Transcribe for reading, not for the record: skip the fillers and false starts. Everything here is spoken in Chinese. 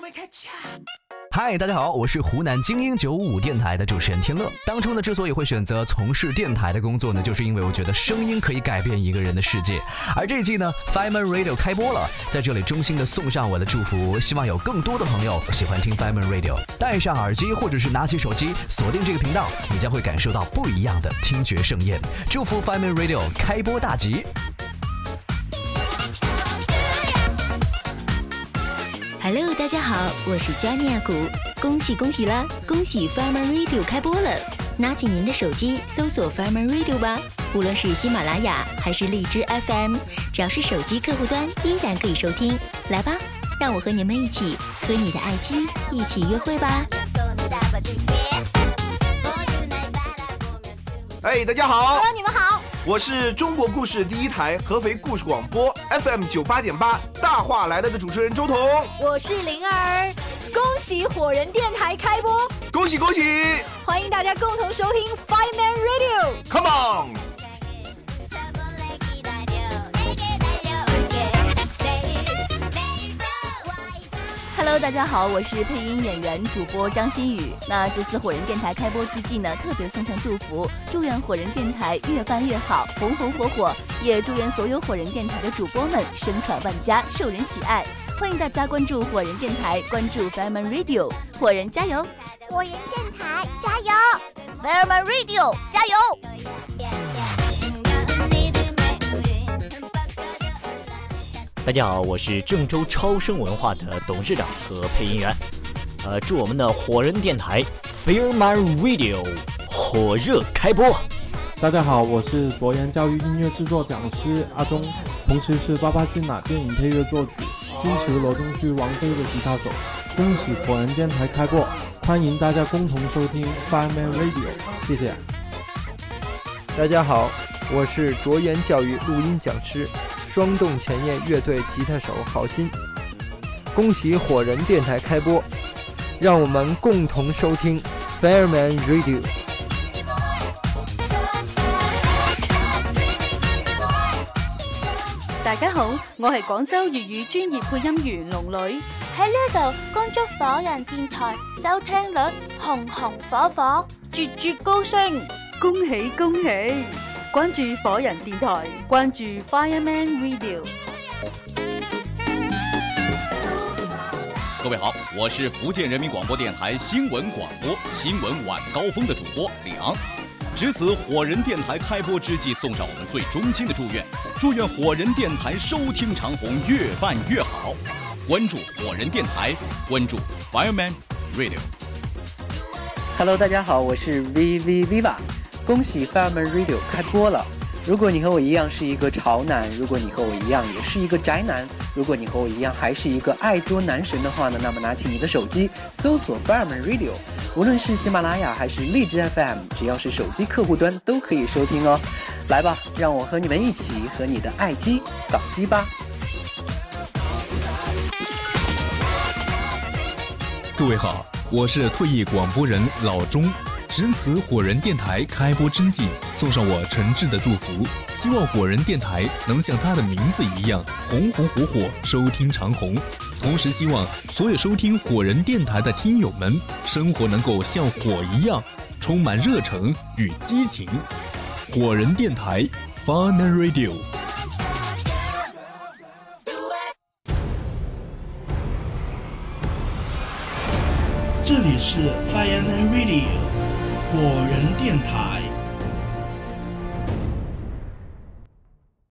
嗨，大家好，我是湖南精英955电台的主持人天乐。当初呢，之所以会选择从事电台的工作呢，就是因为我觉得声音可以改变一个人的世界。而这一季呢 Fireman Radio 开播了，在这里衷心的送上我的祝福，希望有更多的朋友喜欢听 Fireman Radio， 戴上耳机或者是拿起手机锁定这个频道，你将会感受到不一样的听觉盛宴。祝福 Fireman Radio 开播大吉。 Hello， 大家好，我是加尼亚谷，恭喜啦！恭喜 Fireman Radio 开播了，拿起您的手机搜索 Fireman Radio 吧，无论是喜马拉雅还是荔枝 FM， 只要是手机客户端依然可以收听。来吧，让我和你们一起和你的爱机一起约会吧。 哎，大家好 Hello， 你们好， 我是中国故事第一台合肥故事广播 FM 98.8大话来了的主持人周彤， 我是灵儿，恭喜火人电台开播， 恭喜恭喜！ 欢迎大家共同收听 Fireman Radio。Come on。Hello， 大家好，我是配音演员主播张馨予。那这次火人电台开播之际呢，特别送上祝福，祝愿火人电台越办越好，红红火火，也祝愿所有火人电台的主播们声传万家，受人喜爱。欢迎大家关注火人电台，关注 Fireman Radio， 火人加油！ 火人电台加油 ！Fireman Radio 加油！ 大家好，我是郑州超声文化的董事长和配音员。祝我们的火人电台 Fireman Radio 火热开播。 大家好，我是卓言教育音乐制作讲师阿忠，同时是《爸爸去哪》电影配乐作曲，金池罗中旭王菲的吉他手。恭喜火人电台开播，欢迎大家共同收听 Fireman Radio， 谢谢。 大家好，我是卓言教育录音讲师。双动前沿乐队吉他手郝鑫，恭喜火人电台开播，让我们共同收听 Fireman Radio。 大家好，我係廣州粵語專業配音員龍女，喺呢度恭祝火人電台收聽率紅紅火火，節節高升，恭喜恭喜！關注火人電台，關注 Fireman Radio。 各位好，我是福建人民广播电台新闻广播新闻晚高峰的主播李昂。值此火人电台开播之际，送上我们最衷心的祝愿，祝愿火人电台收听长虹越办越好。关注火人电台，关注 Fireman Radio。Hello， 大家好，我是 Viva。恭喜 Fireman Radio 开播了！如果你和我一样是一个潮男，如果你和我一样也是一个宅男，如果你和我一样还是一个爱作男神的话呢，那么拿起你的手机搜索 Fireman Radio， 无论是喜马拉雅还是荔枝 FM， 只要是手机客户端都可以收听哦。来吧，让我和你们一起和你的爱机搞基吧！ 各位好，我是退役广播人老钟。值此火人电台开播之际，送上我诚挚的祝福，希望火人电台能像它的名字一样红红火火，收听长虹。同时希望所有收听火人电台的听友们，生活能够像火一样，充满热诚与激情。火人电台 Fireman Radio。 这里是 Fireman Radio 火人电台。